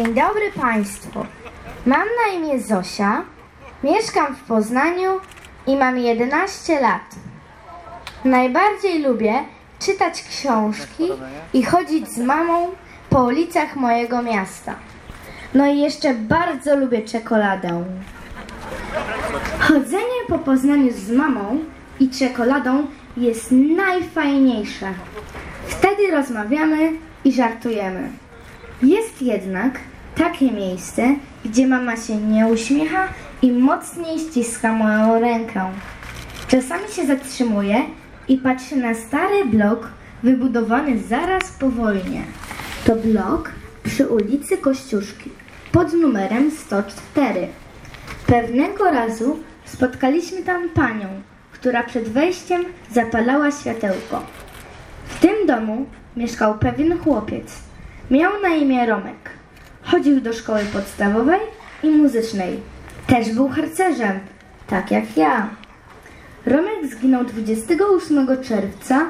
Dzień dobry Państwu. Mam na imię Zosia, mieszkam w Poznaniu i mam 11 lat. Najbardziej lubię czytać książki i chodzić z mamą po ulicach mojego miasta. No i jeszcze bardzo lubię czekoladę. Chodzenie po Poznaniu z mamą i czekoladą jest najfajniejsze. Wtedy rozmawiamy i żartujemy. Jest jednak takie miejsce, gdzie mama się nie uśmiecha i mocniej ściska moją rękę. Czasami się zatrzymuje i patrzy na stary blok wybudowany zaraz po wojnie. To blok przy ulicy Kościuszki pod numerem 104. Pewnego razu spotkaliśmy tam panią, która przed wejściem zapalała światełko. W tym domu mieszkał pewien chłopiec. Miał na imię Romek. Chodził do szkoły podstawowej i muzycznej. Też był harcerzem, tak jak ja. Romek zginął 28 czerwca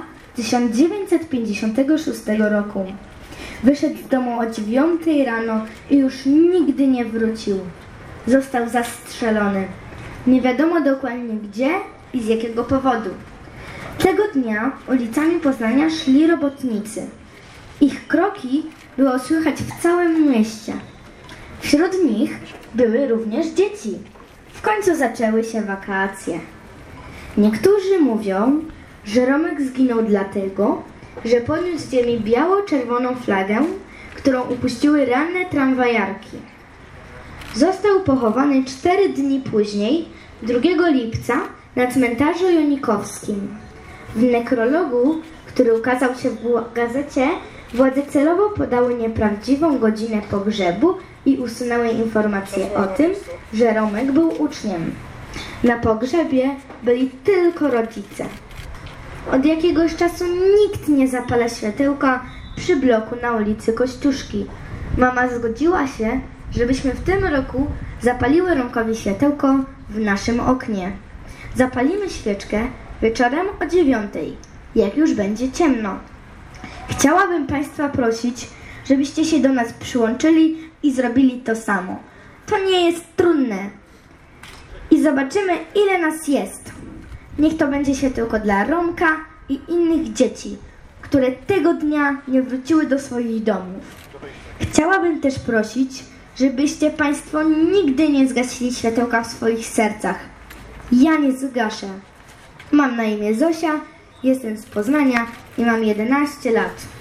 1956 roku. Wyszedł z domu o 9 rano i już nigdy nie wrócił. Został zastrzelony. Nie wiadomo dokładnie gdzie i z jakiego powodu. Tego dnia ulicami Poznania szli robotnicy. Ich kroki było słychać w całym mieście. Wśród nich były również dzieci. W końcu zaczęły się wakacje. Niektórzy mówią, że Romek zginął dlatego, że poniósł z ziemi biało-czerwoną flagę, którą upuściły ranne tramwajarki. Został pochowany 4 dni później, 2 lipca, na cmentarzu jonikowskim. W nekrologu, który ukazał się w gazecie, władze celowo podały nieprawdziwą godzinę pogrzebu i usunęły informację o tym, że Romek był uczniem. Na pogrzebie byli tylko rodzice. Od jakiegoś czasu nikt nie zapala światełka przy bloku na ulicy Kościuszki. Mama zgodziła się, żebyśmy w tym roku zapaliły Romkowi światełko w naszym oknie. Zapalimy świeczkę wieczorem o 9, jak już będzie ciemno. Chciałabym Państwa prosić, żebyście się do nas przyłączyli i zrobili to samo. To nie jest trudne. I zobaczymy, ile nas jest. Niech to będzie światełko dla Romka i innych dzieci, które tego dnia nie wróciły do swoich domów. Chciałabym też prosić, żebyście Państwo nigdy nie zgasili światełka w swoich sercach. Ja nie zgaszę. Mam na imię Zosia, jestem z Poznania i mam 11 lat.